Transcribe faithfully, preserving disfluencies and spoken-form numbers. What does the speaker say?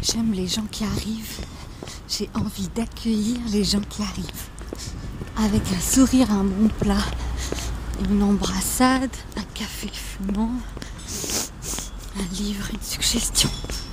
J'aime les gens qui arrivent. J'ai envie d'accueillir les gens qui arrivent. Avec un sourire, un bon plat, une embrassade, un café fumant, un livre, une suggestion.